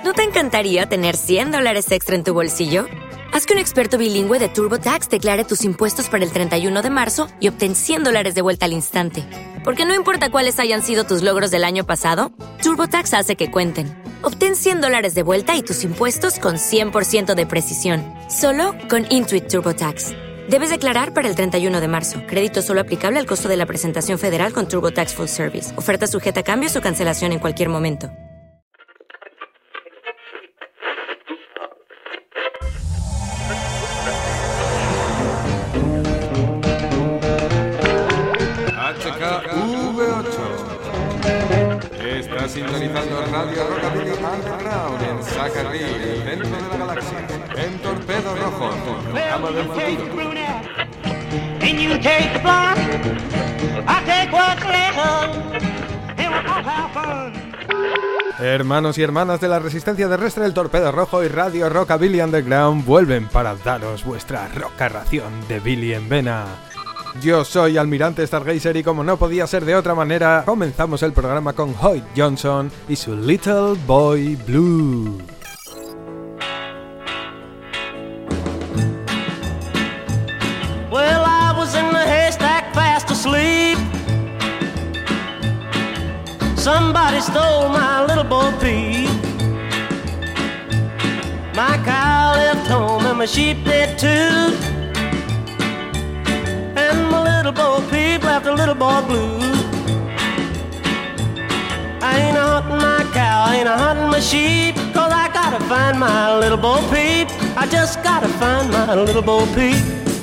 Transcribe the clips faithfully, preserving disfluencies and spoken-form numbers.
¿No te encantaría tener cien dólares extra en tu bolsillo? Haz que un experto bilingüe de TurboTax declare tus impuestos para el treinta y uno de marzo y obtén cien dólares de vuelta al instante. Porque no importa cuáles hayan sido tus logros del año pasado, TurboTax hace que cuenten. Obtén cien dólares de vuelta y tus impuestos con cien por ciento de precisión. Solo con Intuit TurboTax. Debes declarar para el treinta y uno de marzo. Crédito solo aplicable al costo de la presentación federal con TurboTax Full Service. Oferta sujeta a cambios o cancelación en cualquier momento. H K V ocho. Está sintonizando Radio Rockabilly Underground en Zacarrí, dentro de la galaxia, en Torpedo Rojo, tu programa del futuro. And you take the blonde, I take what's left, and we'll all have fun. Hermanos y hermanas de la resistencia terrestre, el Torpedo Rojo y Radio Rockabilly Underground vuelven para daros vuestra roca ración de Billy en vena. Yo soy Almirante Stargazer y como no podía ser de otra manera, comenzamos el programa con Hoyt Johnson y su Little Boy Blue. Well, I was in the haystack fast asleep. Somebody stole my little boy Pete. My cow left home and my sheep did too. And my little boy Peep left a little boy blue. I ain't a hunting my cow, I ain't a hunting my sheep, cause I gotta find my little boy Peep. I just gotta find my little boy Peep.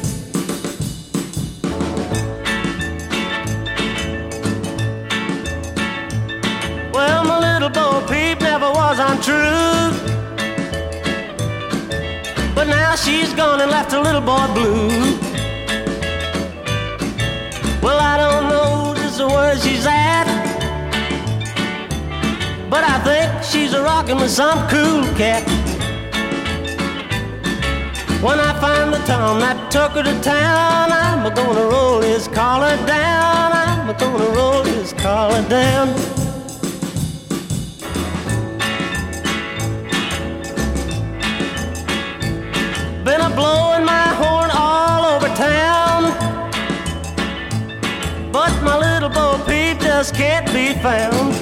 Well, my little boy Peep never was untrue, but now she's gone and left a little boy blue. Well, I don't know just where she's at, but I think she's a rockin' with some cool cat. When I find the Tom that took her to town, I'm gonna roll his collar down, I'm gonna roll his collar down. Been a blowing my horn all over town, but my little Bo Peep just can't be found.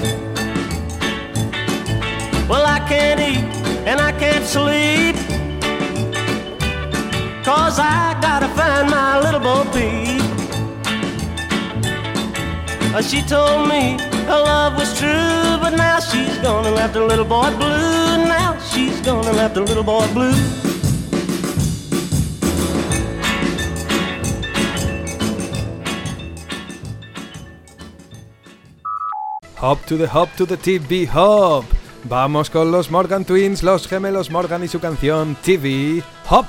Well, I can't eat and I can't sleep, cause I gotta find my little Bo Peep. Uh, she told me her love was true, but now she's gonna left a little boy blue. Now she's gonna left a little boy blue. Hop to the hop to the T V hop. Vamos con los Morgan Twins, los gemelos Morgan y su canción T V Hop.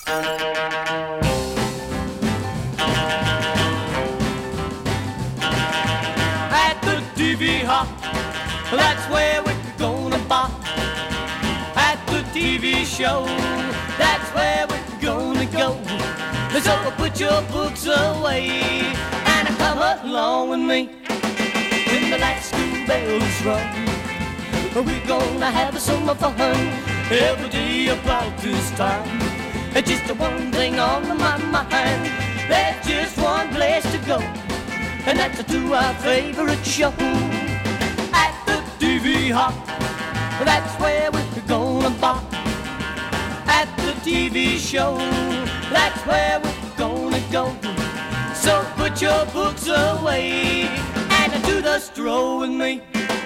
At the T V hop, that's where we're gonna bop. At the T V show, that's where we're gonna go. So put your books away and come along with me. When the last school bells run, we're gonna have some fun every day about this time. Just one thing on my mind, there's just one place to go, and that's to our favorite show. At the T V hop, that's where we're gonna bop. At the T V show, that's where we're gonna go. So put your books away and do the stroll with me.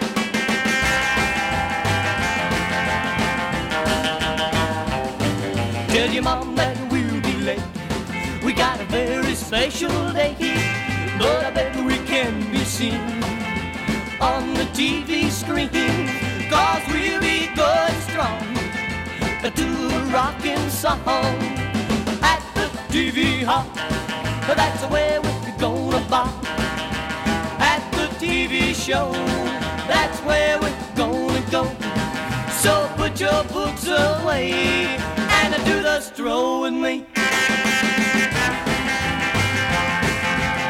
Tell your mom that we'll be late. We got a very special day, but I bet we can be seen on the T V screen, cause we'll be going strong to a rockin' song. At the T V hop, that's where we're gonna bop. At the T V show, that's where we're gonna go. So put your books away and do the stroll with me.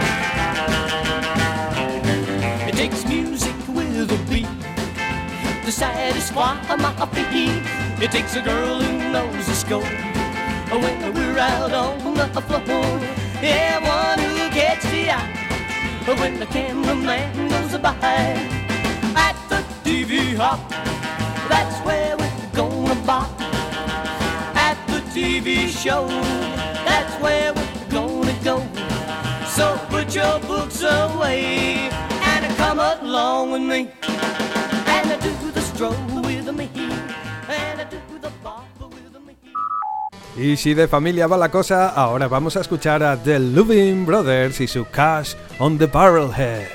It takes music with a beat to satisfy my feet. It takes a girl who knows the score when we're out on the floor. Yeah, one who gets the eye when the cameraman goes by. At the T V hop, that's where we're gonna bop. At the T V show, that's where we're gonna go. So put your books away and come along with me, and do the stroll with me, and do the bop with me. Y si de familia va la cosa, ahora vamos a escuchar a The Louvin Brothers y su Cash on the Barrelhead.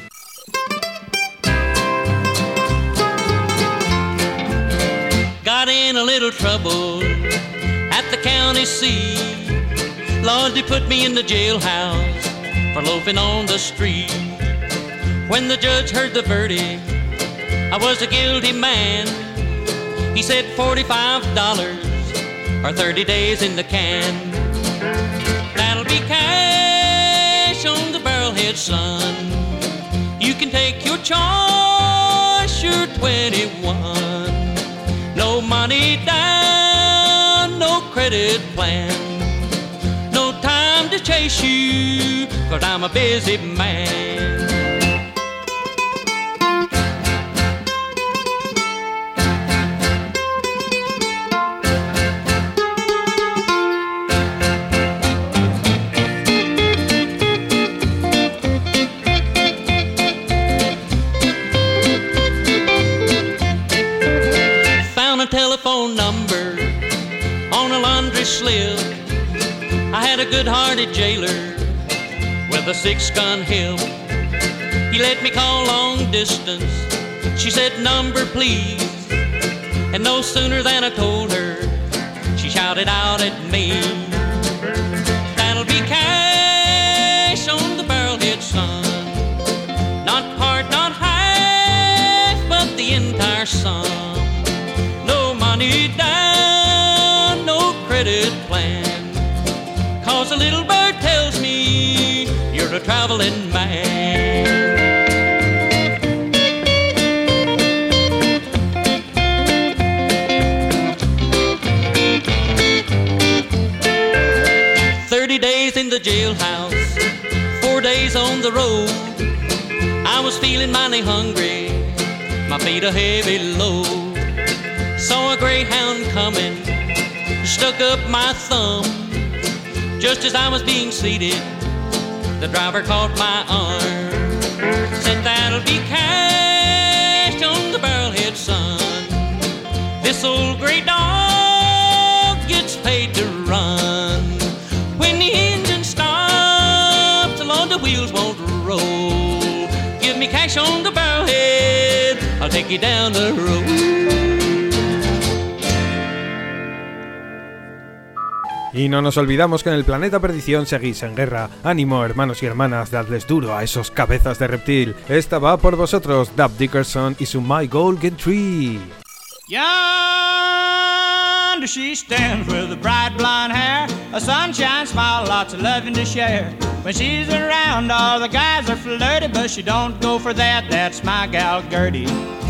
Got in a little trouble at the county seat. Lord, they put me in the jailhouse for loafing on the street. When the judge heard the verdict, I was a guilty man. He said forty-five dollars or thirty days in the can. That'll be cash on the barrelhead, son. You can take your choice, you're twenty-one. No money down, no credit plan. No time to chase you, 'cause I'm a busy man. Telephone number on a laundry slip. I had a good-hearted jailer with a six-gun hip. He let me call long distance. She said, number please. And no sooner than I told her, she shouted out at me, that'll be cash on the barrelhead, son. Not part, not half, but the entire sum. Money down, no credit plan. 'Cause a little bird tells me you're a traveling man. Thirty days in the jailhouse, four days on the road. I was feeling mighty hungry, my feet a heavy load. Saw a greyhound coming, stuck up my thumb. Just as I was being seated, the driver caught my arm. Said, that'll be cash on the barrelhead, son. This old grey dog gets paid to run. When the engine stops, Lord, the wheels won't roll. Give me cash on the barrelhead, I'll take you down the road. Y no nos olvidamos que en el planeta Perdición seguís en guerra. Ánimo, hermanos y hermanas, dadles duro a esos cabezas de reptil. Esta va por vosotros, Dub Dickerson y su My Golden Tree. Yonder she stands with a bright blonde hair, a sunshine smile, lots of loving to share. When she's around, all the guys are flirty, but she don't go for that, that's my gal Gertie.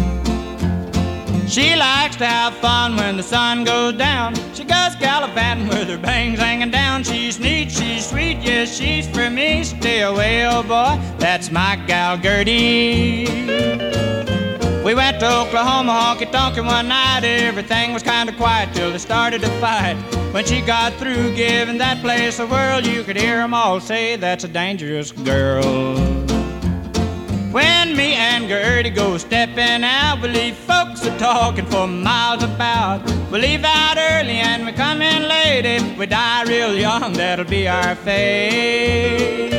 She likes to have fun when the sun goes down. She goes gallivanting with her bangs hanging down. She's neat, she's sweet, yes, she's for me. Stay away, oh boy, that's my gal Gertie. We went to Oklahoma honky-tonkin' one night. Everything was kind of quiet till they started to fight. When she got through giving that place a whirl, you could hear them all say, that's a dangerous girl. When me and Gertie go stepping out, we leave folks a talking for miles about. We leave out early and we come in late. If we die real young, that'll be our fate.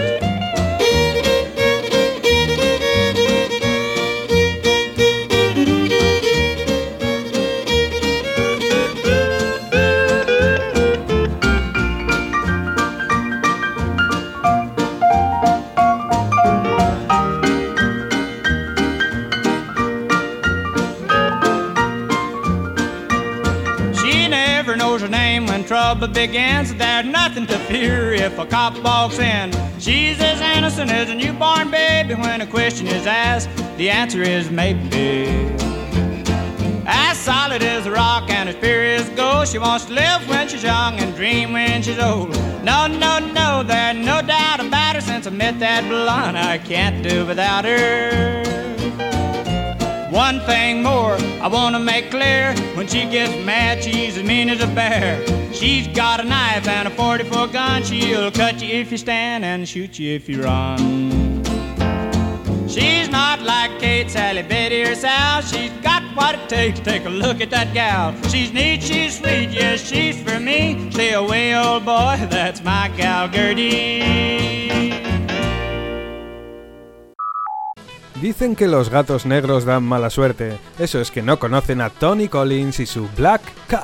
Trouble begins, there's nothing to fear if a cop walks in. She's as innocent as a newborn baby. When a question is asked, the answer is maybe. know she wants to live when she's young and dream when she's old. No, no, no, there's no doubt about her. Since I met that blonde, I can't do without her. One thing more I want to make clear. When she gets mad, she's as mean as a bear. She's got a knife and a forty-four gun. She'll cut you if you stand and shoot you if you run. She's not like Kate, Sally, Betty, or Sal. She's got what it takes to take a look at that gal. She's neat, she's sweet, yes, she's for me. Stay away, old boy, that's my gal Gertie. Dicen que los gatos negros dan mala suerte. Eso es que no conocen a Tony Collins y su Black Cat.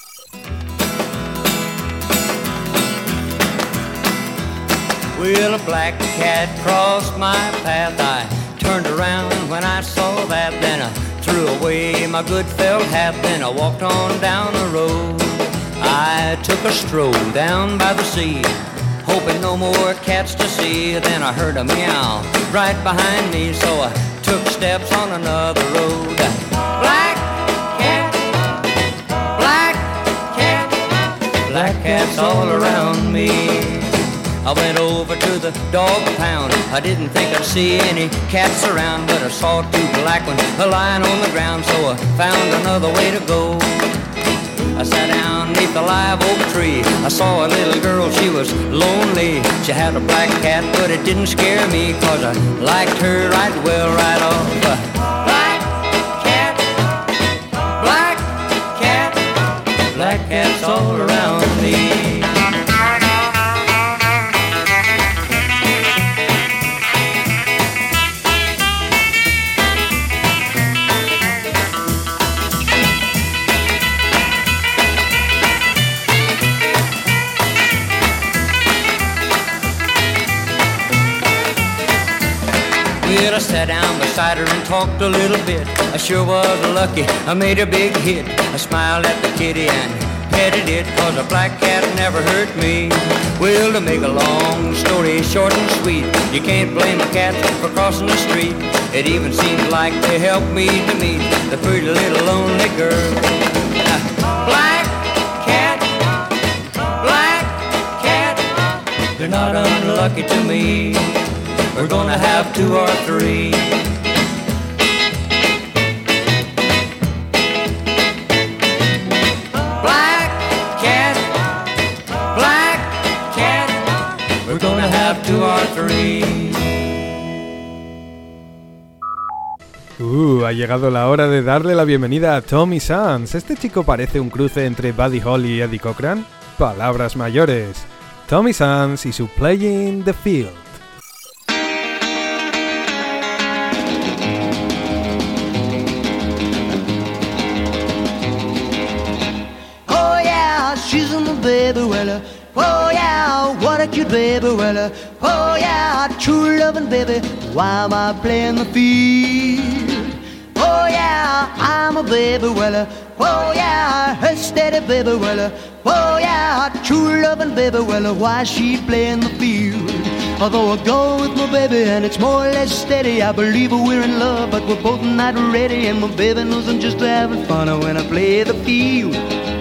Well, a black cat crossed my path. I turned around when I saw that. Then I threw away my good felt hat. Then I walked on down the road. I took a stroll down by the sea, hoping no more cats to see. Then I heard a meow right behind me, so I took steps on another road. Black cat, black cat, black cats all around me. I went over to the dog pound. I didn't think I'd see any cats around, but I saw two black ones lying on the ground, so I found another way to go. I sat down beneath a live oak tree. I saw a little girl, she was lonely. She had a black cat, but it didn't scare me, 'cause I liked her right well right off. Black cat, black cat, black cats all around me. Well, I sat down beside her and talked a little bit. I sure was lucky, I made a big hit. I smiled at the kitty and petted it, 'cause a black cat never hurt me. Well, to make a long story short and sweet, you can't blame a cat for crossing the street. It even seemed like they helped me to meet the pretty little lonely girl. Uh, black cat, black cat, they're not unlucky to me. We're gonna have two or three. Black cat, black cat, we're gonna have two or three. Uh, ha llegado la hora de darle la bienvenida a Tommy Sands. Este chico parece un cruce entre Buddy Holly y Eddie Cochran. Palabras mayores. Tommy Sands y su Playing the Field. She's my baby, well, uh, oh yeah, what a cute baby, well, uh, oh yeah, true loving baby, why am I playing the field? Oh yeah, I'm a baby, well, uh, oh yeah, her steady baby, well, uh, oh yeah, true loving baby, well, uh, why she playing the field? Although I go with my baby and it's more or less steady, I believe we're in love, but we're both not ready, and my baby knows I'm just having fun when I play the field.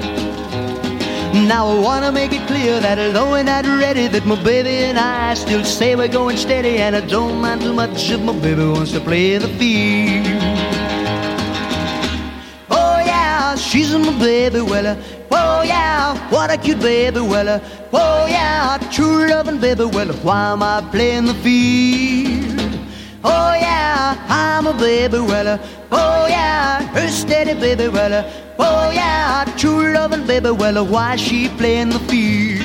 Now I wanna make it clear that although we're not ready, that my baby and I still say we're going steady, and I don't mind too much if my baby wants to play the field. Oh yeah, she's my baby, well, uh, oh yeah, what a cute baby, well, uh, oh yeah, true loving baby, well, why am I playing the field? Oh yeah, I'm a baby, well, uh, oh yeah, her steady baby, well, uh, oh yeah, true loving baby, well, why she playing the field?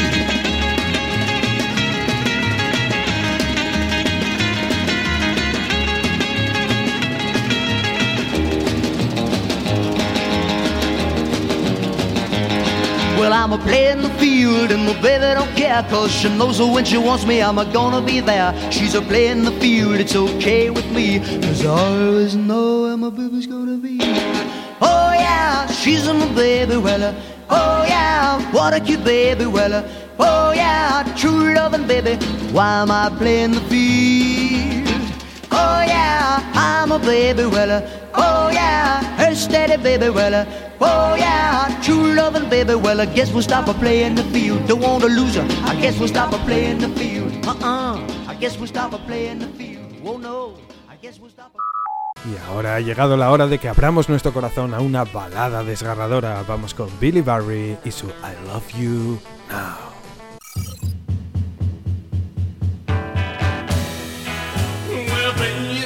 Well, I'm a playing the field and my baby don't care, 'cause she knows that when she wants me, I'm a gonna be there. She's a playing the field, it's okay with me, 'cause I always know where my baby's gonna be. Oh yeah, she's my baby, well, uh, oh yeah, what a cute baby, well, uh, oh yeah, true loving baby, why am I playing the field? Oh yeah, I'm a baby Weller. Oh yeah, her steady baby Weller. Oh yeah, true loving baby Weller. Guess we'll stop her playing the field. Don't want to lose her. I guess we'll stop her playing the field. Uh-uh. I guess we'll stop her playing the field. Oh no. I guess we'll stop her. Y ahora ha llegado la hora de que abramos nuestro corazón a una balada desgarradora. Vamos con Billy Barry y su I Love You Now. Well, baby,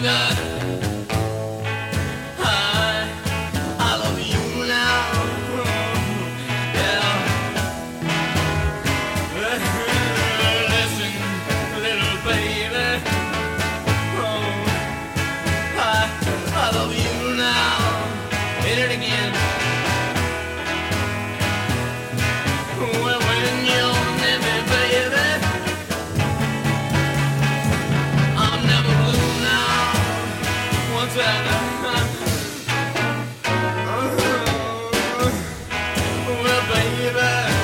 I, I love you now. Yeah. Listen, little baby. Oh, I, I love you now. Hit it again. Well, when you're near me, baby, I'm never blue now. Once I well, baby,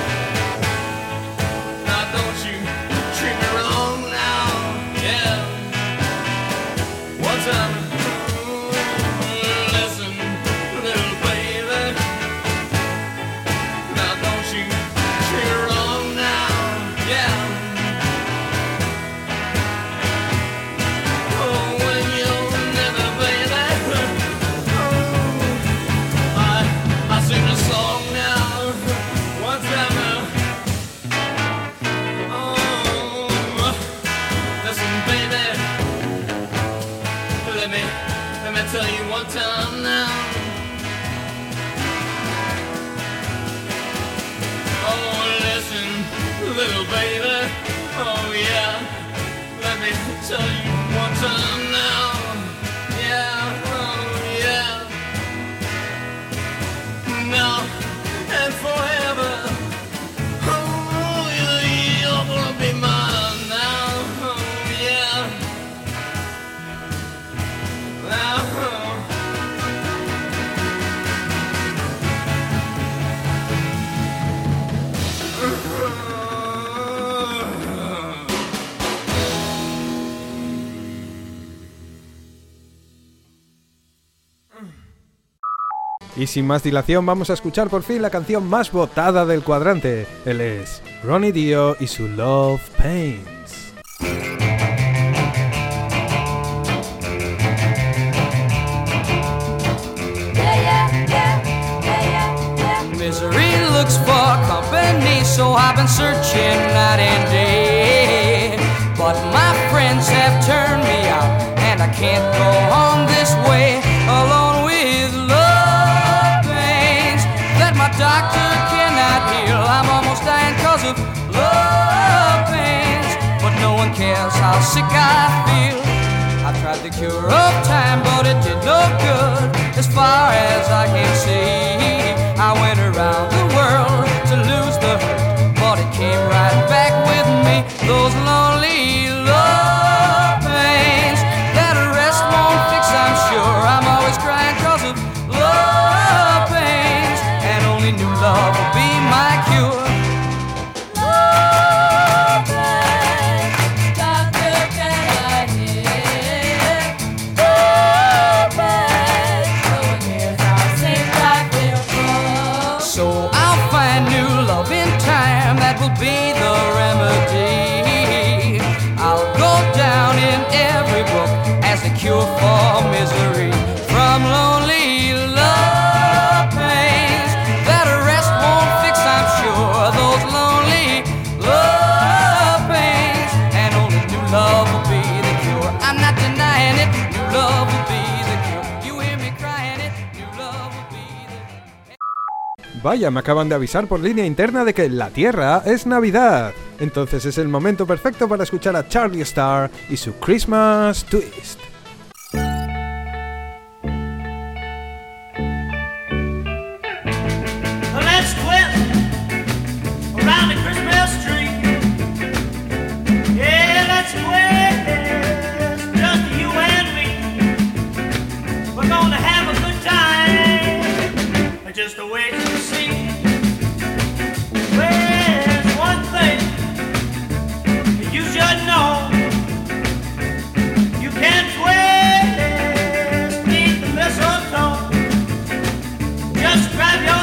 now don't you treat me wrong now. Yeah. Once I listen, little baby, now don't you treat me wrong now. Yeah. Oh, when you're never, baby, oh, I, I sing a song now. Once ever, oh, listen, baby, let me, let me tell you one time now. Oh, listen, little baby, oh yeah, let me tell you one time now. Yeah, oh yeah, now and forever. Oh, you- you're gonna be mine now. Oh yeah, now. Y sin más dilación vamos a escuchar por fin la canción más votada del cuadrante. Él es Ronnie Dio y su Love Pains. Misery looks for company, so I've been searching night and day. But my friends have turned me out, and I can't go on this way, alone with love pains that my doctor cannot heal. I'm almost dying cause of love pains, but no one cares how sick I feel. I tried the cure of time, but it did no good. As far as I can see, I went around the world to lose the hurt, but it came right back with me. Those lonely love pains that a rest won't fix, I'm sure. I'm always crying cause of love pains, and only new love will be my cure. Love pains, doctor, can I hear? Love pains, no one hears how sick I feel. So I'll find new love in time, that will be the remedy. I'll go down in every book as the cure for misery. From lonely love pains that a rest won't fix, I'm sure. Those lonely love pains, and only new love will be the cure. I'm not denying it, new love will be the cure. You hear me crying it, new love will be the cure. Vaya, me acaban de avisar por línea interna de que en la Tierra es Navidad. Entonces es el momento perfecto para escuchar a Charlie Starr y su Christmas Twist. Let's twist around the Christmas tree. Yeah, let's twist, just you and me. We're gonna have a good time, just wait and see. There's one thing you should know. You can't twist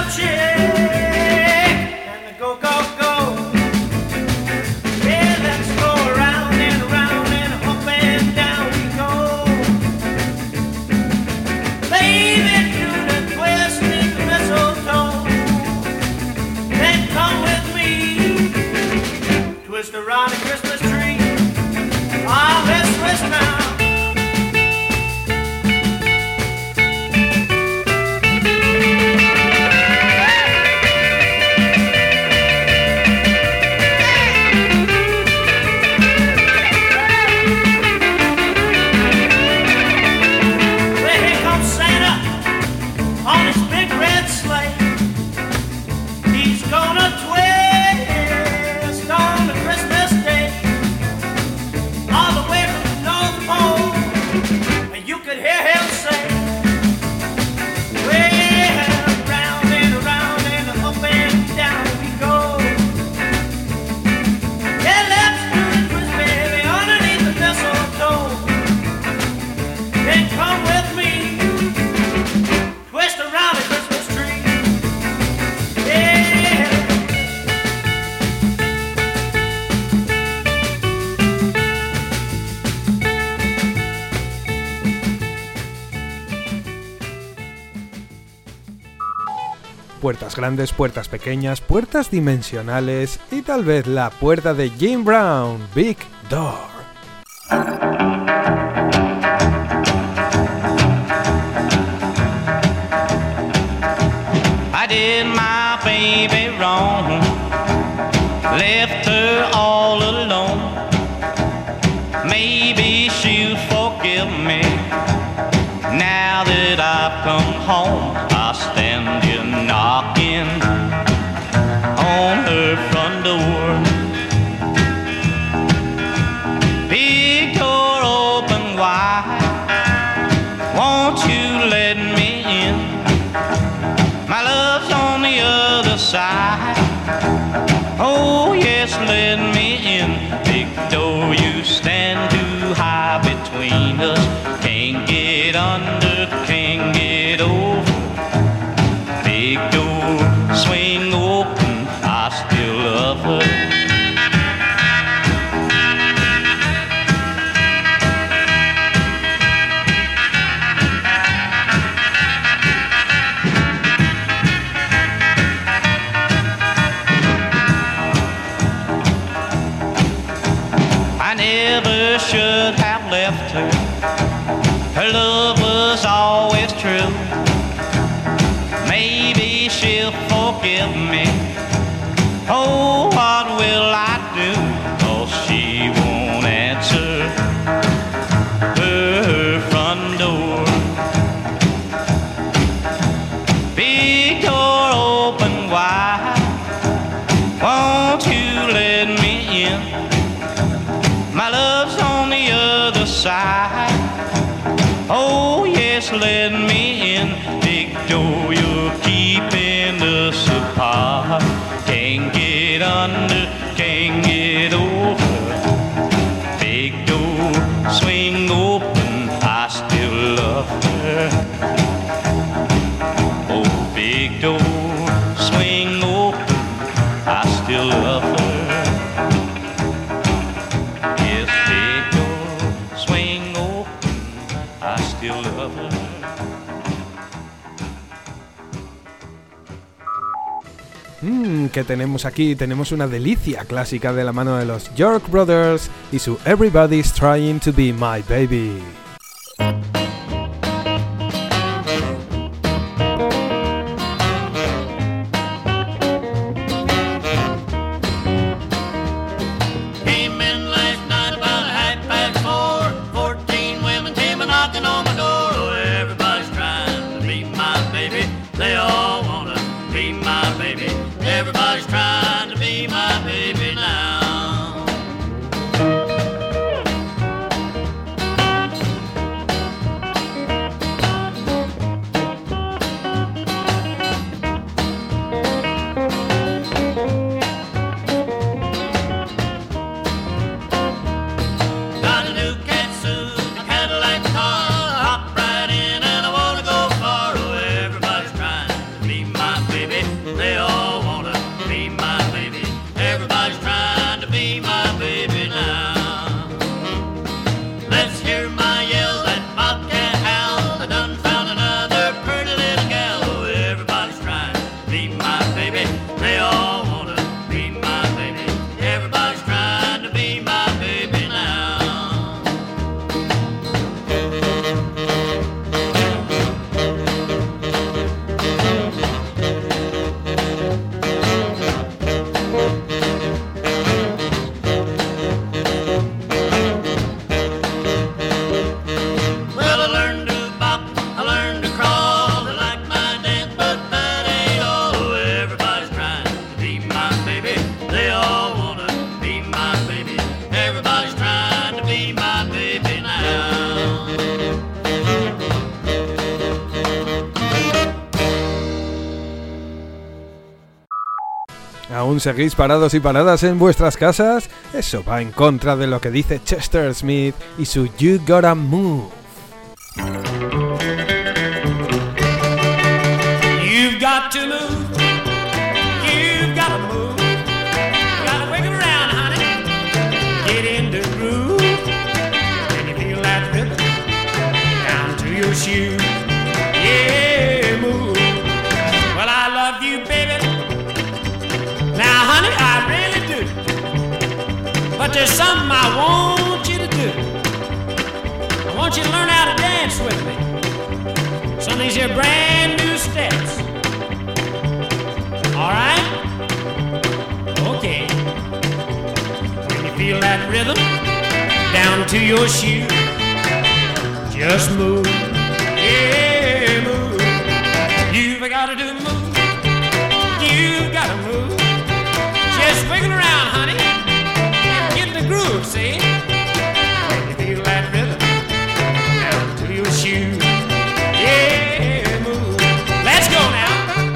Puertas grandes, puertas pequeñas, puertas dimensionales y tal vez la puerta de Jim Brown, Big Door. I did my baby wrong, left her all alone. Maybe she'll forgive me now that I've come home. I'll stand here knocking on her front door. Big door open wide, won't you let me in? My love's on the other side. Oh yes, let me in. Big door, you stand too high between us. Can't get under, can't get over. Big door, swing open, I still love her. I never should have left her. Her love was always true. Maybe she'll forgive me. Oh, what will I do? Oh, she won't answer her front door. Big door open wide, won't you let me in? My love's on the other side. Oh yes, let me in. Big door, you're keeping us apart. Can't get under, can't get over. Big door, swing open, I still love her. Oh, big door, swing open, I still love her. Mmm, ¿qué tenemos aquí? Tenemos una delicia clásica de la mano de los York Brothers y su Everybody's Trying to Be My Baby. ¿Aún seguís parados y paradas en vuestras casas? Eso va en contra de lo que dice Chester Smith y su You Gotta Move. You've got to move. You've got to move. You gotta wiggle around, honey. Get in the groove. Can you feel that rhythm down to your shoes? Yeah, move. Well, I love you, baby. Now, honey, I really do. But there's something I want you to do. I want you to learn how to dance with me. Some of these here brand new steps. All right? Okay. When you feel that rhythm down to your shoe, just move. Yeah, move. You've got to do the move. You've got to move. Just wiggle around, honey, and get in the groove, see? When you feel that rhythm down to your shoes, yeah, move. Let's go now.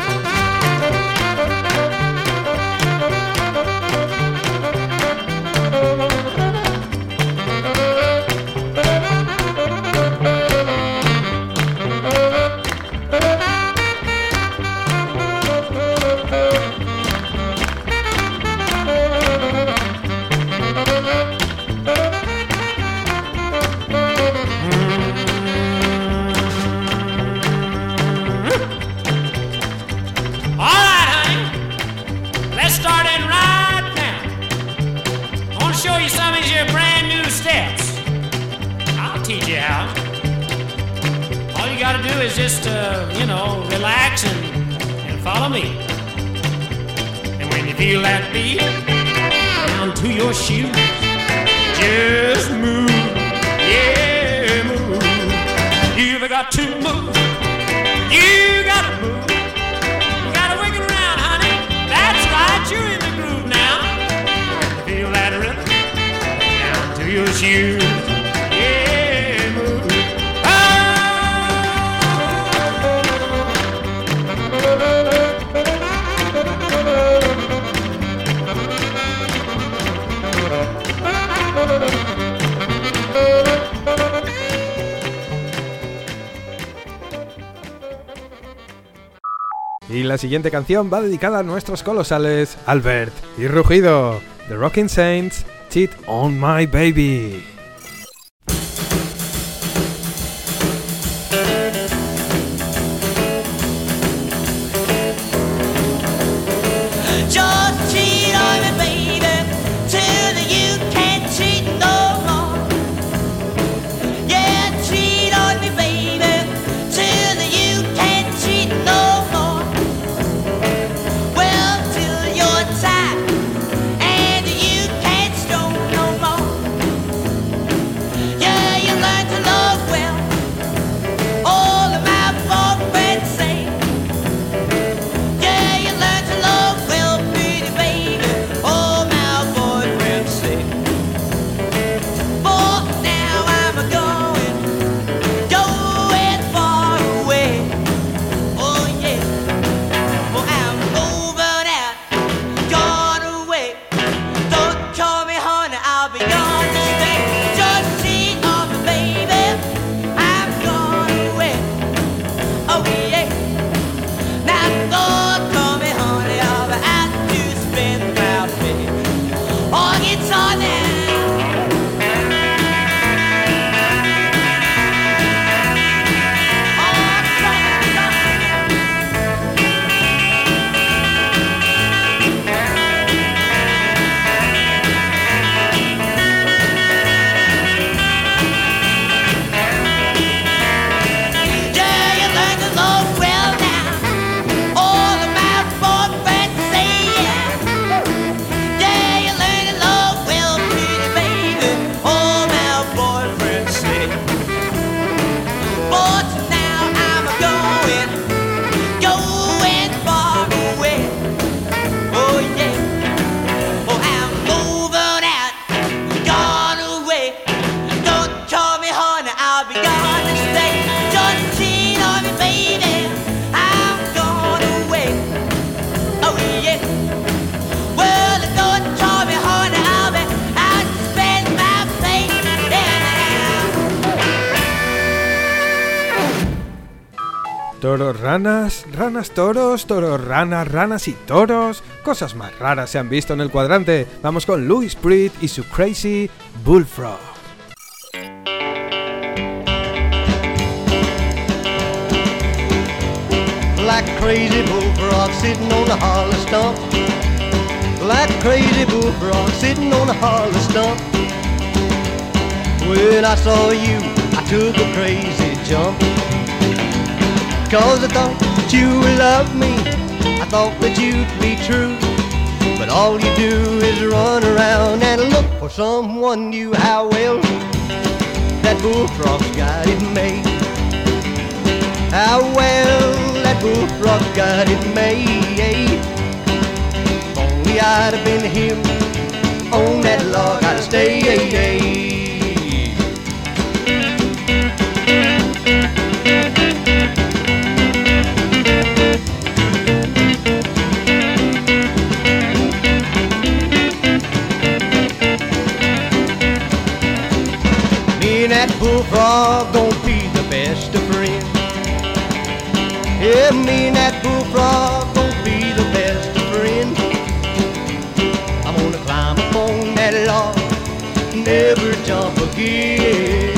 Is just, uh, you know, relax and, and follow me. And when you feel that beat down to your shoes, just move, yeah, move. You've got to move, you gotta move. You gotta wiggle around, honey. That's right, you're in the groove now. When you feel that rhythm down to your shoes. Y la siguiente canción va dedicada a nuestros colosales Albert y Rugido, The Rockin' Saints, Cheat on My Baby. Toros, ranas, ranas, toros, toros, ranas, ranas y toros. Cosas más raras se han visto en el cuadrante. Vamos con Louis Pritt y su Crazy Bullfrog. Like a crazy bullfrog sitting on a hollow stump. Like a crazy bullfrog sitting on a hollow stump. When I saw you, I took a crazy jump. Cause I thought that you would love me, I thought that you'd be true. But all you do is run around and look for someone new. How well that bullfrog's got it made. How well that bullfrog's got it made. If only I'd have been him on that log, I'd have stayed. That bullfrog gon' be the best of friends. Yeah, me and that bullfrog gon' be the best of friends. I'm gonna climb up on that log, never jump again.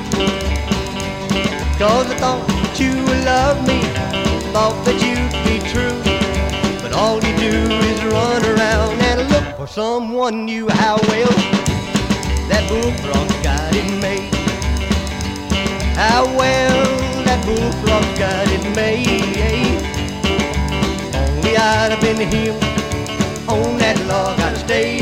Cause I thought that you would love me, thought that you'd be true. But all you do is run around and look for someone new. How well that bullfrog's got it made. How well that bullfrog's got it made. Only I'd have been him on that log, I'd stay.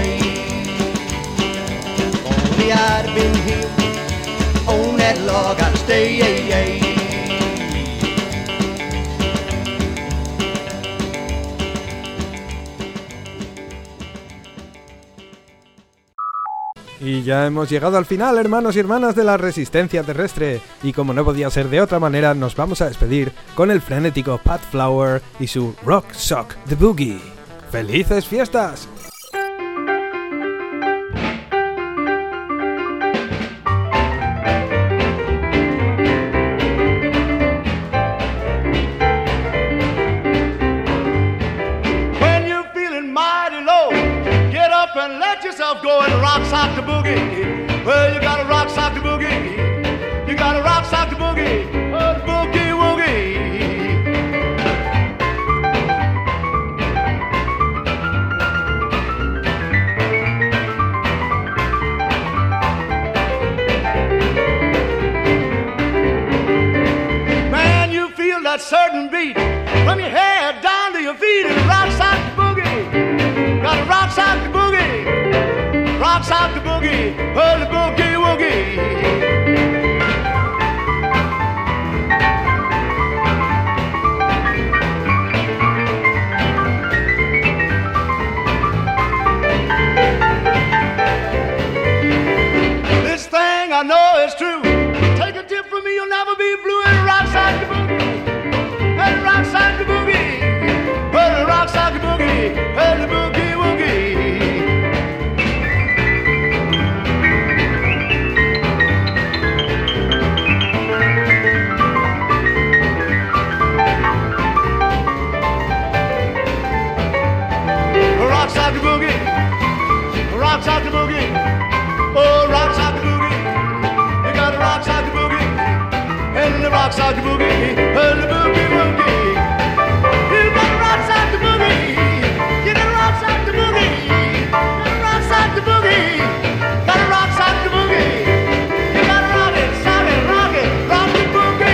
Only I'd have been him on that log, I'd stay. Y ya hemos llegado al final, hermanos y hermanas de la resistencia terrestre. Y como no podía ser de otra manera, nos vamos a despedir con el frenético Pat Flower y su Rock Sock the Boogie. ¡Felices fiestas! Go and rock sock the boogie. Well, you gotta rock sock the boogie. You gotta rock sock the boogie. Oh, the boogie woogie. Man, you feel that certain beat from your head down to your feet and rock sock the boogie. Gotta rock sock the boogie. Rock sock the boogie, oh the boogie woogie. This thing I know is true. Take a tip from me, you'll never be blue. And rock sock the boogie, and rock sock the boogie, oh the rock sock the boogie, oh the boogie woogie. Rock sock the boogie, rock sock the boogie, oh rock sock the boogie. You gotta rock sock the boogie, and the rock sock the boogie, and the boogie woogie. You gotta rock sock the boogie, you gotta rock sock the boogie, gotta rock sock the boogie, gotta rock sock the boogie. You gotta rock it, sock it, rock it, rock the boogie.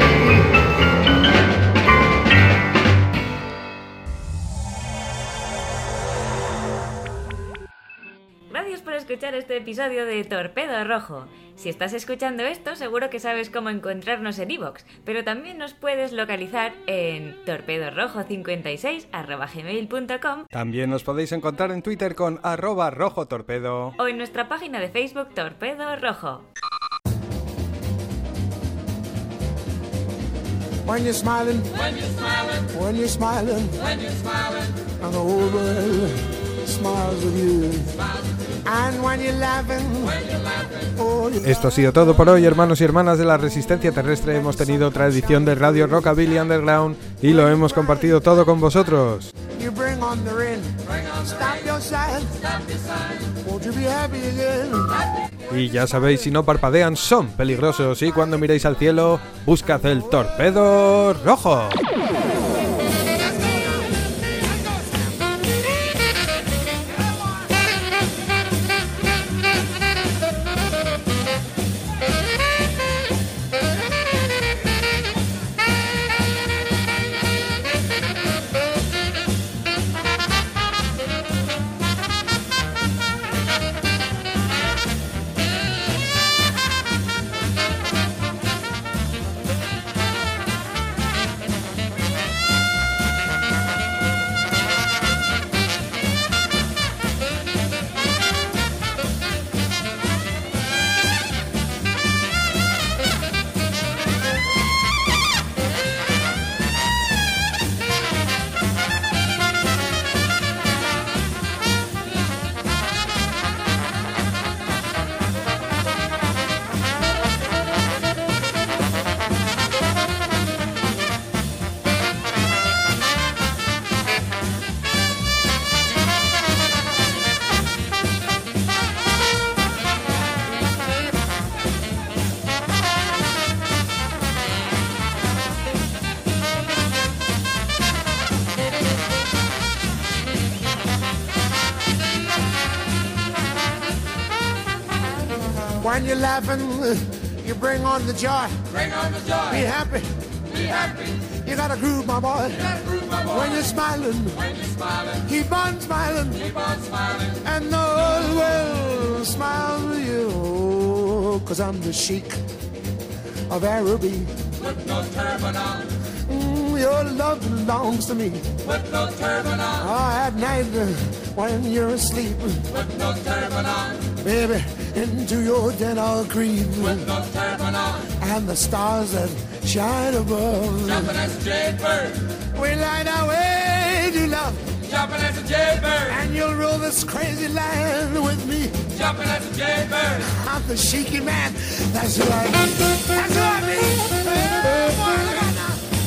Gracias por escuchar este episodio de Torpedo Rojo. Si estás escuchando esto, seguro que sabes cómo encontrarnos en iVoox, pero también nos puedes localizar en torpedorojo cincuenta y seis arroba gmail punto com. También nos podéis encontrar en Twitter con arroba rojotorpedo o en nuestra página de Facebook Torpedo Rojo. When you're smiling, when you're smiling, when you're smiling, when you're smiling, and the whole world smiles with you. Smiles with you. And when you're laughing, oh, you're Esto ha sido todo por hoy, hermanos y hermanas de la Resistencia Terrestre. Hemos tenido otra edición de Radio Rockabilly Underground y lo hemos compartido todo con vosotros. you bring on the rain. Stop your sign. Won't you be happy again? Y ya sabéis, si no parpadean son peligrosos y cuando miréis al cielo, buscad el torpedo rojo. When you're laughing, you bring on the joy. Bring on the joy. Be happy. Be happy. You gotta groove, my boy. You gotta groove, my boy. When you're smiling, when you're smiling, keep on smiling. Keep on smiling. And the whole world smiles with you. Cause I'm the Sheik of Araby. With no turban on. Mm, your love belongs to me. With no turban on. Oh, at night uh, when you're asleep. With no turban on. Baby, into your den I'll creep. With no turban on. And the stars that shine above. Jumping as a jaybird. We light our way to love. Jumping as a jaybird. And you'll rule this crazy land with me. Jumping as a jaybird. I'm the Sheiky man. That's who I be. That's who I be. Oh, boy, look out now.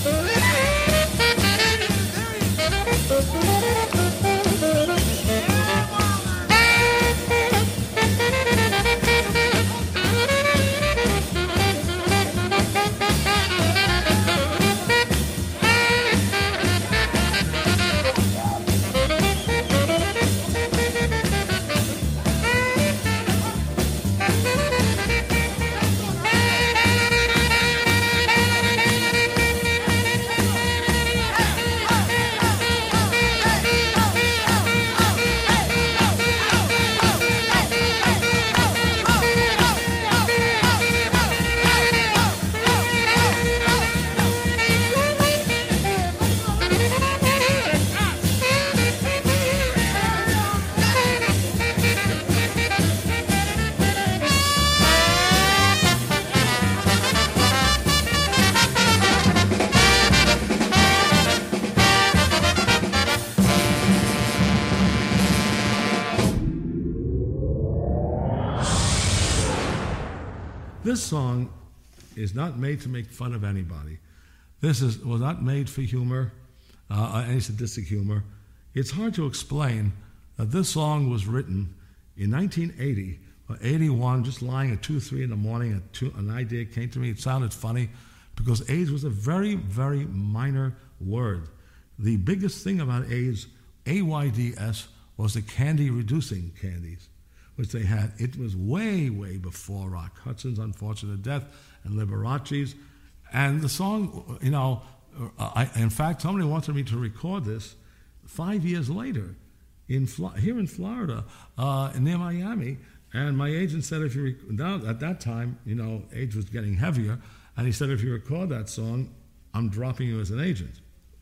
This song is not made to make fun of anybody. This is was not made for humor, uh, any sadistic humor. It's hard to explain that this song was written in nineteen eighty or eighty-one, just lying at two, three in the morning. At two, an idea came to me. It sounded funny because AIDS was a very, very minor word. The biggest thing about AIDS, A Y D S, was the candy-reducing candies, which they had. It was way, way before Rock Hudson's unfortunate death and Liberace's. And the song, you know, I, in fact, somebody wanted me to record this five years later in here in Florida, uh, near Miami. And my agent said, if you rec- now, at that time, you know, age was getting heavier, and he said, if you record that song, I'm dropping you as an agent.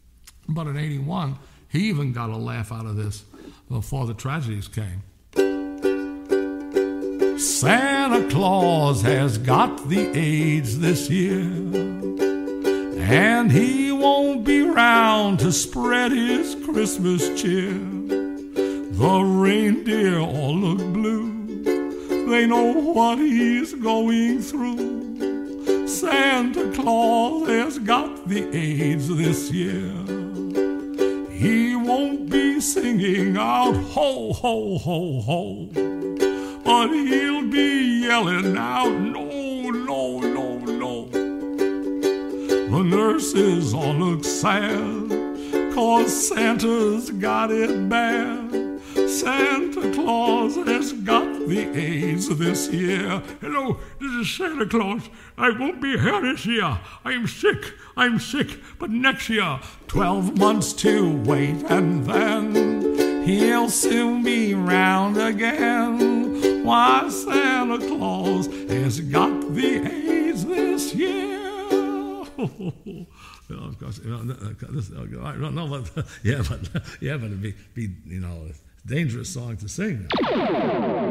But in eighty-one, he even got a laugh out of this before the tragedies came. Santa Claus has got the AIDS this year, and he won't be round to spread his Christmas cheer. The reindeer all look blue. They know what he's going through. Santa Claus has got the AIDS this year. He won't be singing out ho, ho, ho, ho, but he'll be yelling out no, no, no, no. The nurses all look sad, 'cause Santa's got it bad. Santa Claus has got the AIDS this year. Hello, this is Santa Claus. I won't be here this year. I'm sick, I'm sick, but next year, twelve months to wait, and then he'll soon be round again. Why, Santa Claus has got the AIDS this year. Well, of course, you know, this, I don't know, but yeah, but yeah, but it'd be, be you know, a dangerous song to sing.